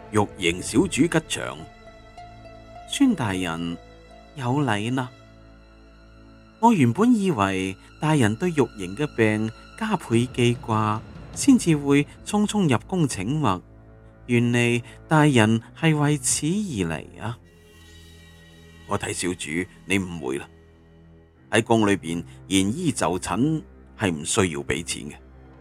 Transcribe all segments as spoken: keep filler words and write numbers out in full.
玉瑩小主吉祥。 孫大人有禮啦。我原本以為大人對玉瑩嘅病加倍記掛，先至會匆匆入宮請脈，原嚟大人係為此而嚟啊！ 我睇小主你誤會啦，喺宮裏邊延醫就診係唔需要俾錢嘅。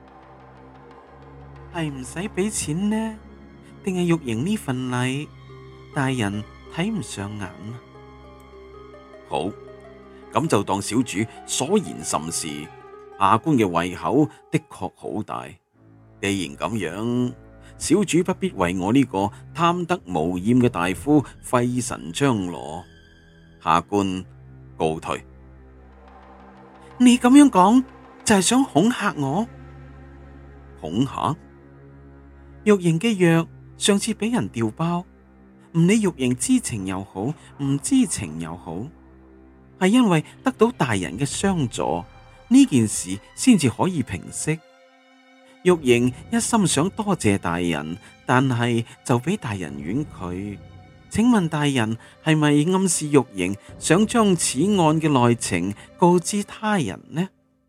係唔使俾錢呢？定係玉瑩呢份禮大人睇唔上眼啊？ 好，咁就當小主所言甚是。下官嘅胃口的確好大，既然咁樣，小主不必為我呢個貪得無厭嘅大夫費神張羅。下官告退。 你咁樣講就係想恐嚇我？ 恐嚇？ 玉瑩嘅藥上次俾人調包，唔理玉瑩知情又好，唔知情又好，係因為得到大人嘅相助，呢件事先至可以平息。玉瑩一心想多謝大人，但係就俾大人婉拒。請問大人係咪暗示玉瑩想將此案嘅內情告知他人呢？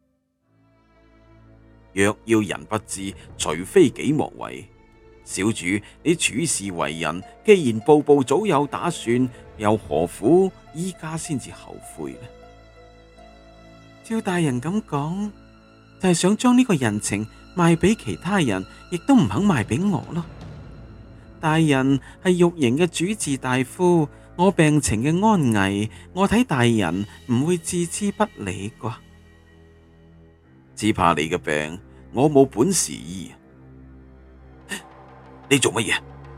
若要人不知，除非己莫為。小主，你處事為人，既然步步早有打算，又何苦依家先至後悔呢？ 照大人咁講，就係想將呢個人情賣俾其他人，亦都唔肯賣俾我咯。大人係玉瑩嘅主治大夫，我病情嘅安危，我睇大人唔會置之不理啩。 只怕你嘅病，我冇本事醫。你做乜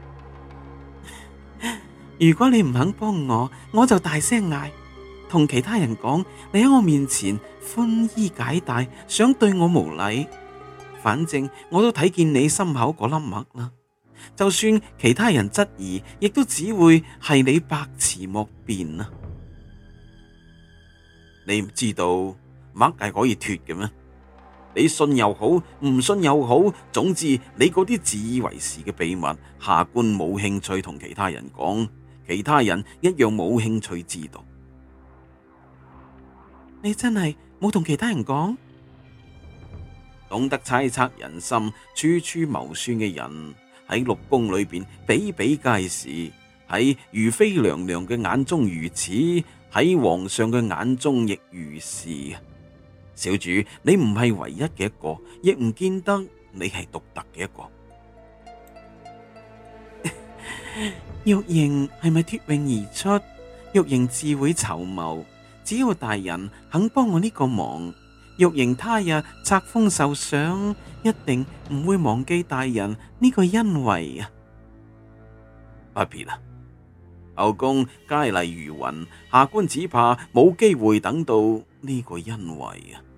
嘢？如果你唔肯幫我，我就大聲嗌，同其他人講你喺我面前寬衣解帶，想對我無禮。反正我都睇見你心口嗰粒墨啦。就算其他人質疑，亦都只會係你百詞莫辯啊！ 你唔知道墨係可以脫嘅咩？你信又好，唔信又好，總之你嗰啲自以為是嘅秘密，下官冇興趣同其他人講，其他人一樣冇興趣知道。 你真係冇同其他人講？ 懂得猜測人心、處處謀算嘅人，喺六宮裏邊比比皆是，喺如妃娘娘嘅眼中如此，喺皇上嘅眼中亦如是。小主，你唔係唯一嘅一個，亦唔見得你係獨特嘅一個。 玉瑩係咪脫穎而出？玉瑩自會籌謀，只要大人肯幫我呢個忙，玉瑩他日冊封受賞，一定唔會忘記大人呢個恩惠啊！ 不必啦，後宮佳麗如雲，下官只怕冇機會等到呢個恩惠啊！